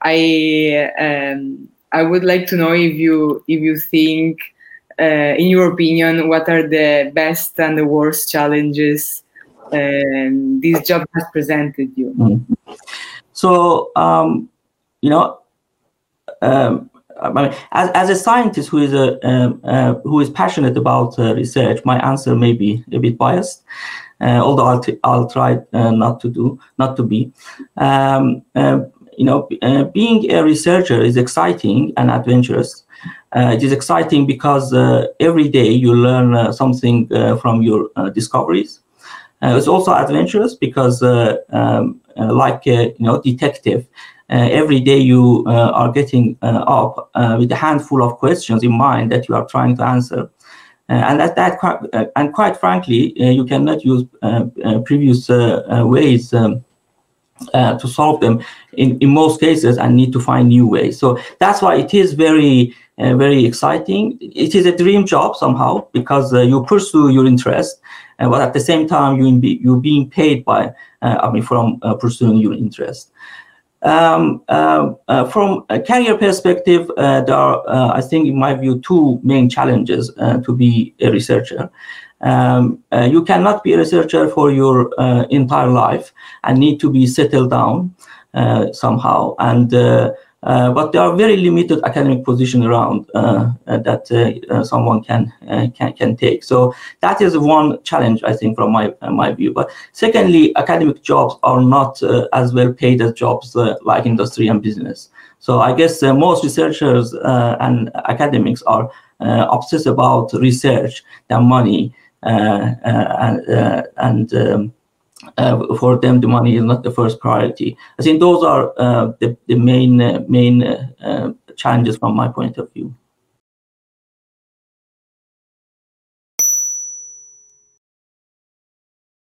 I would like to know if you think, in your opinion, what are the best and the worst challenges this job has presented you. So I mean, as a scientist who is passionate about research, my answer may be a bit biased, although I'll try not to be. Being a researcher is exciting and adventurous. It is exciting because every day you learn something from your discoveries. It's also adventurous because, detective, every day you are getting up with a handful of questions in mind that you are trying to answer. And quite frankly, you cannot use previous ways to solve them in most cases, and need to find new ways. So that's why it is very exciting. It is a dream job somehow, because you pursue your interest, but at the same time you're being paid from pursuing your interest. From a career perspective, there are, I think, in my view, two main challenges to be a researcher. You cannot be a researcher for your entire life and need to be settled down somehow. But there are very limited academic positions around that someone can take. So that is one challenge, I think, from my view. But secondly, academic jobs are not as well paid as jobs like industry and business. So I guess most researchers and academics are obsessed about research than money, for them, the money is not the first priority. I think those are the main challenges from my point of view.